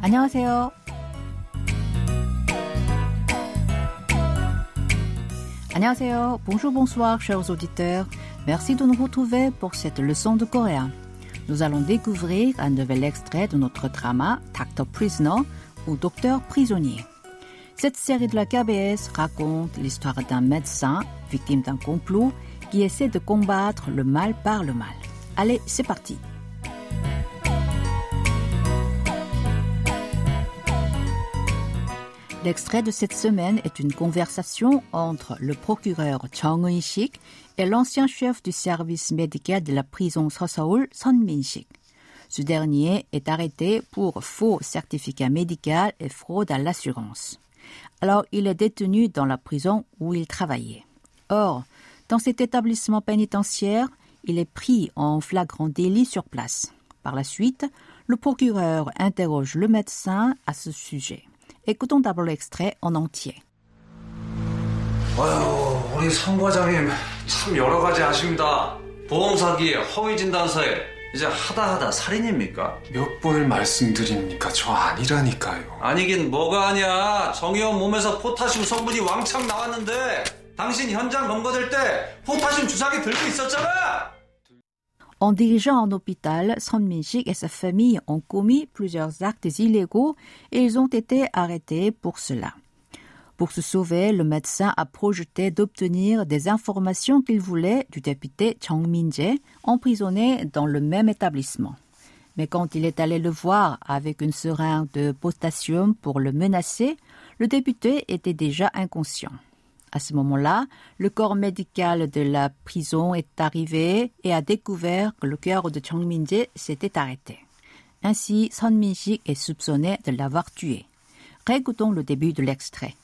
안녕하세요. 안녕하세요. Bonjour, bonsoir, chers auditeurs. Merci de nous retrouver pour cette leçon de coréen. Nous allons découvrir un nouvel extrait de notre drama Dr. Prisoner ou Docteur prisonnier. Cette série de la KBS raconte l'histoire d'un médecin victime d'un complot qui essaie de combattre le mal par le mal. Allez, c'est parti. L'extrait de cette semaine est une conversation entre le procureur Jung Eun-sik et l'ancien chef du service médical de la prison Seoseol, Son Min-sik. Ce dernier est arrêté pour faux certificat médical et fraude à l'assurance. Alors, il est détenu dans la prison où il travaillait. Or, dans cet établissement pénitentiaire, il est pris en flagrant délit sur place. Par la suite, le procureur interroge le médecin à ce sujet. Écoutons d'abord l'extrait en entier. 아유, 우리 성 과장님 참 여러 가지 아십니다. 보험 사기에 허위 진단서에 이제 하다 살인입니까? 몇 번을 말씀드립니까? 저 아니라니까요. 아니긴 뭐가 아니야. 정의원 몸에서 포타슘 성분이 왕창 나왔는데 당신 현장 검거될 때 포타슘 주사기 들고 있었잖아. En dirigeant un hôpital, Son Min-sik et sa famille ont commis plusieurs actes illégaux et ils ont été arrêtés pour cela. Pour se sauver, le médecin a projeté d'obtenir des informations qu'il voulait du député Jung Min-jae, emprisonné dans le même établissement. Mais quand il est allé le voir avec une seringue de potassium pour le menacer, le député était déjà inconscient. À ce moment-là, le corps médical de la prison est arrivé et a découvert que le cœur de Jung Min-jae s'était arrêté. Ainsi, Son Min-sik est soupçonné de l'avoir tué. Réécoutons le début de l'extrait.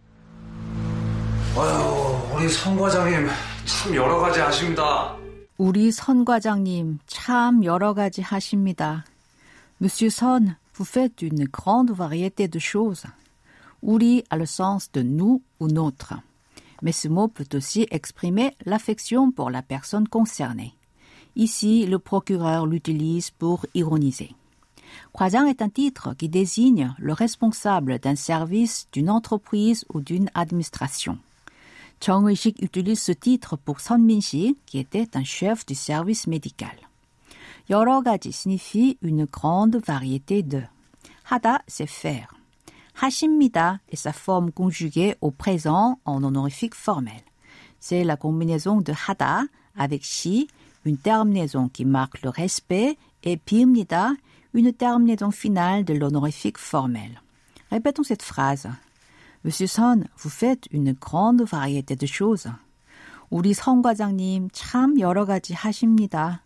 아유, 우리 성 과장님 참 여러 가지 아십니다. 우리 선 과장님 참 여러 가지 하십니다. Monsieur Son, vous faites une grande variété de choses. 우리 a le sens de nous ou notre. Mais ce mot peut aussi exprimer l'affection pour la personne concernée. Ici, le procureur l'utilise pour ironiser. 과장 est un titre qui désigne le responsable d'un service, d'une entreprise ou d'une administration. Jung Eun-sik utilise ce titre pour Son Min-sik, qui était un chef du service médical. 여러 가지 signifie une grande variété de. 하다, c'est faire. 하십니다 est sa forme conjuguée au présent en honorifique formel. C'est la combinaison de 하다 avec 시, une terminaison qui marque le respect, et 비입니다, une terminaison finale de l'honorifique formel. Répétons cette phrase. Monsieur Son, vous faites une grande variété de choses. 우리 성 과장님 참 여러 가지 하십니다.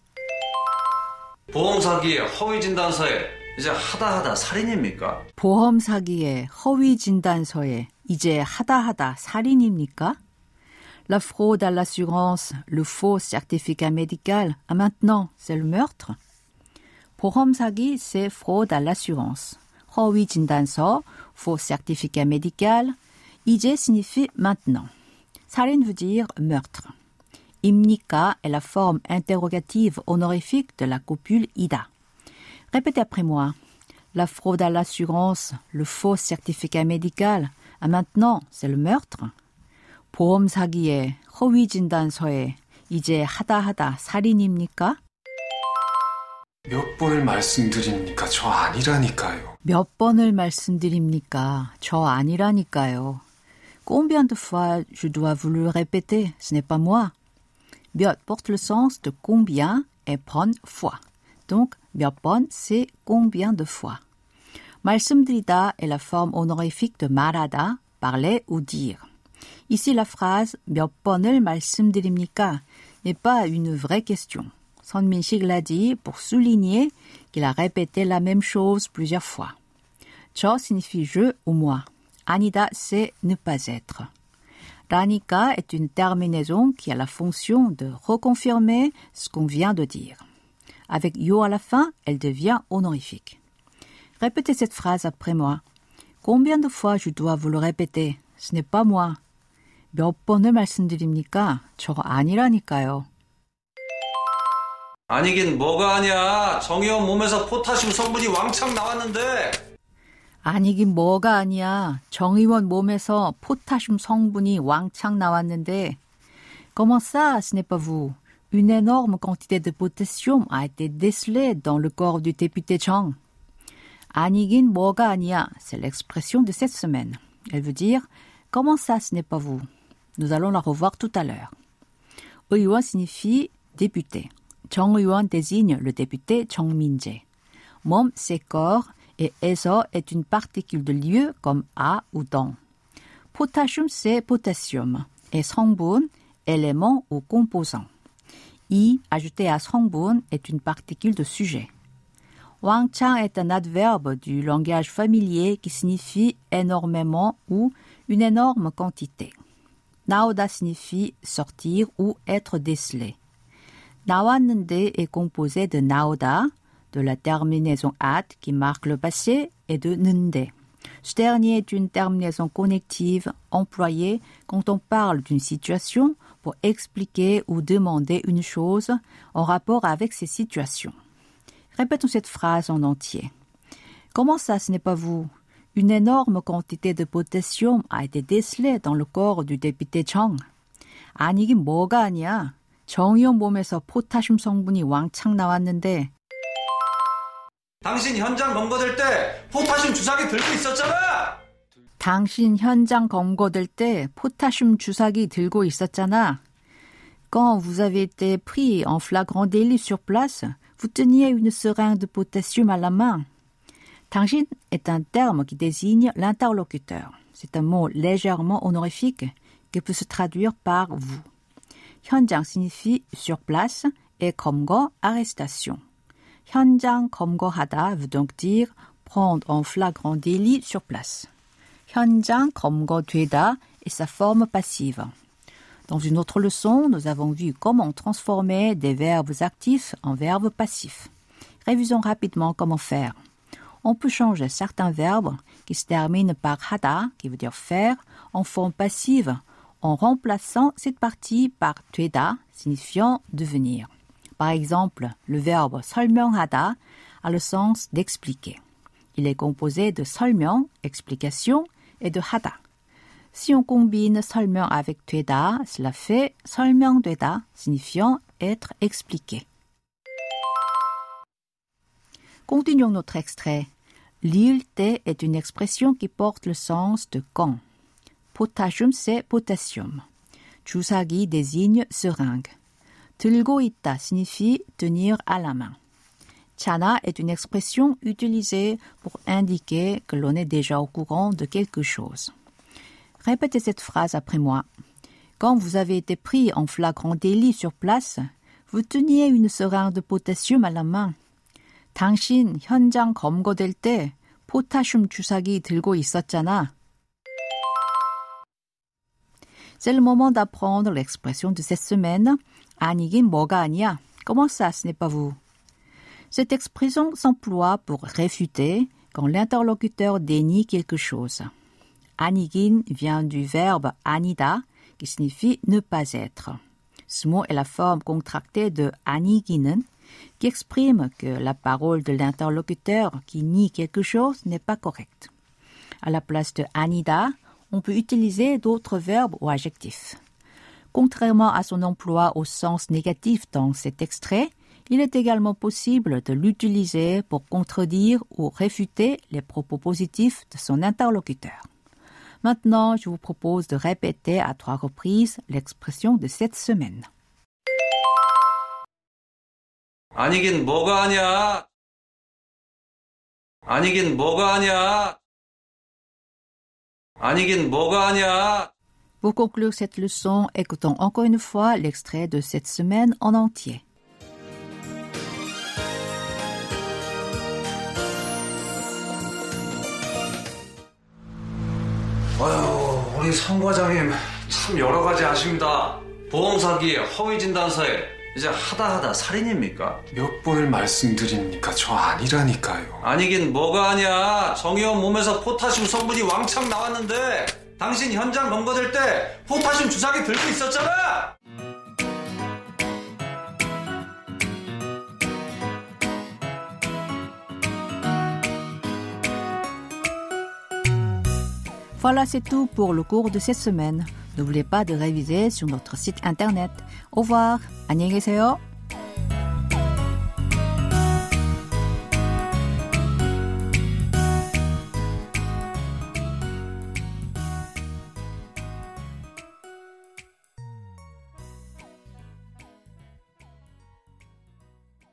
보험 사기에 허위 진단서에 이제 하다 살인입니까? 보험 사기에 허위 진단서에 이제 하다 살인입니까? La fraude à l'assurance, le faux certificat médical, maintenant, c'est le meurtre? 보험 사기, c'est fraude à l'assurance. 허위 진단서, faux certificat médical. 이제 signifie maintenant. 살인 veut dire meurtre. 입니까 est la forme interrogative honorifique de la copule ida. Répétez après moi. La fraude à l'assurance, le faux certificat médical, maintenant, c'est le meurtre. 보험 사기에 허위 진단서에 이제 하다 살인입니까? 몇 번을 말씀드립니까? 저 아니라니까요. 몇 번을 말씀드립니까? 저 아니라니까요. Combien de fois je dois vous le répéter? Ce n'est pas moi. 몇 porte le sens de combien et prendre fois. Donc, 몇 번, c'est combien de fois. 말씀드리다 est la forme honorifique de 말하다, parler ou dire. Ici, la phrase 몇 번을 말씀드립니까 n'est pas une vraie question. Son Min-sik l'a dit pour souligner qu'il a répété la même chose plusieurs fois. 저 signifie je ou moi. 아니다, c'est ne pas être. 라니까 est une terminaison qui a la fonction de reconfirmer ce qu'on vient de dire. Avec yo à la fin, elle devient honorifique. Répétez cette phrase après moi. Combien de fois je dois vous le répéter? Ce n'est pas moi. 몇 번을 말씀드립니까? 저 아니라니까요. 아니긴 뭐가 아니야. 정의원 몸에서 포타슘 성분이 왕창 나왔는데 아니긴 뭐가 아니야. 정 의원 몸에서 포타슘 성분이 왕창 나왔는데. Comment ça, ce n'est pas vous? Une énorme quantité de potassium a été décelée dans le corps du député Chang. 아니긴 뭐가 아니야. C'est l'expression de cette semaine. Elle veut dire comment ça, ce n'est pas vous? Nous allons la revoir tout à l'heure. 의원 signifie député. 정 의원 désigne le député Chang Min-jae. 몸, c'est corps, et 에서 est une particule de lieu comme à ou dans. Potassium, c'est potassium, et 성분, élément ou composant. I, ajouté à 성분, est une particule de sujet. 왕창 est un adverbe du langage familier qui signifie énormément ou une énorme quantité. 나오다 signifie sortir ou être décelé. 나왔는데 est composé de 나오다, de la terminaison at qui marque le passé et de 는데. Ce dernier est une terminaison connective employée quand on parle d'une situation pour expliquer ou demander une chose en rapport avec ces situations. Répétons cette phrase en entier. Comment ça, ce n'est pas vous? Une énorme quantité de potassium a été décelée dans le corps du député Chang. 아니긴 뭐가 아니야. 정 의원 몸에서 포타슘 성분이 왕창 나왔는데. 당신 현장 검거될 때 포타슘 주사기 들고 있었잖아. 당신 현장 검거될 때 포타슘 주사기 들고 있었잖아. Quand vous avez été pris en flagrant délit sur place, vous teniez une seringue de potassium à la main. 당신 est un terme qui désigne l'interlocuteur. C'est un mot légèrement honorifique qui peut se traduire par vous. 현장 signifie sur place et 검거, arrestation. 현장 검거하다 veut donc dire prendre en flagrant délit sur place. 현장 검거되다 est sa forme passive. Dans une autre leçon, nous avons vu comment transformer des verbes actifs en verbes passifs. Révisons rapidement comment faire. On peut changer certains verbes qui se terminent par 하다, qui veut dire faire, en forme passive, en remplaçant cette partie par 되다, signifiant devenir. Par exemple, le verbe 설명하다 a le sens d'expliquer. Il est composé de 설명, explication, et de 하다. Si on combine 설명 avec 되다, cela fait 설명되다, signifiant être expliqué. Continuons notre extrait. L'île 때 est une expression qui porte le sens de quand. Potassium, c'est potassium. 주사기 désigne seringue. 들고 있다 signifie tenir à la main. 차나 est une expression utilisée pour indiquer que l'on est déjà au courant de quelque chose. Répétez cette phrase après moi. Quand vous avez été pris en flagrant délit sur place, vous teniez une seringue de potassium à la main. 당신 현장 검거될 때 포타슘 주사기 들고 있었잖아. C'est le moment d'apprendre l'expression de cette semaine. 아니긴 뭐가 아니야. Comment ça, ce n'est pas vous? Cette expression s'emploie pour réfuter quand l'interlocuteur dénie quelque chose. 아니긴 vient du verbe 아니다, qui signifie ne pas être. Ce mot est la forme contractée de 아니기는, qui exprime que la parole de l'interlocuteur qui nie quelque chose n'est pas correcte. À la place de 아니다, on peut utiliser d'autres verbes ou adjectifs. Contrairement à son emploi au sens négatif dans cet extrait, il est également possible de l'utiliser pour contredire ou réfuter les propos positifs de son interlocuteur. Maintenant, je vous propose de répéter à 3 reprises l'expression de cette semaine. 아니긴 뭐가 아니야. 아니긴 뭐가 아니야. 아니긴 뭐가 아니야. Pour conclure cette leçon, écoutons encore une fois l'extrait de cette semaine en entier. 아유, 우리 성 과장님 참 여러 가지 아십니다. 보험 사기, 허위 진단서에 이제 하다 살인입니까? 몇 번을 말씀드립니까? 저 아니라니까요. 아니긴 뭐가 아니야. 정 의원 몸에서 포타슘 성분이 왕창 나왔는데 당신 현장 검거될 때 포타슘 주사기 들고 있었잖아. Voilà, c'est tout pour le cours de cette semaine. N'oubliez pas de réviser sur notre site internet. Au revoir. 안녕히 계세요.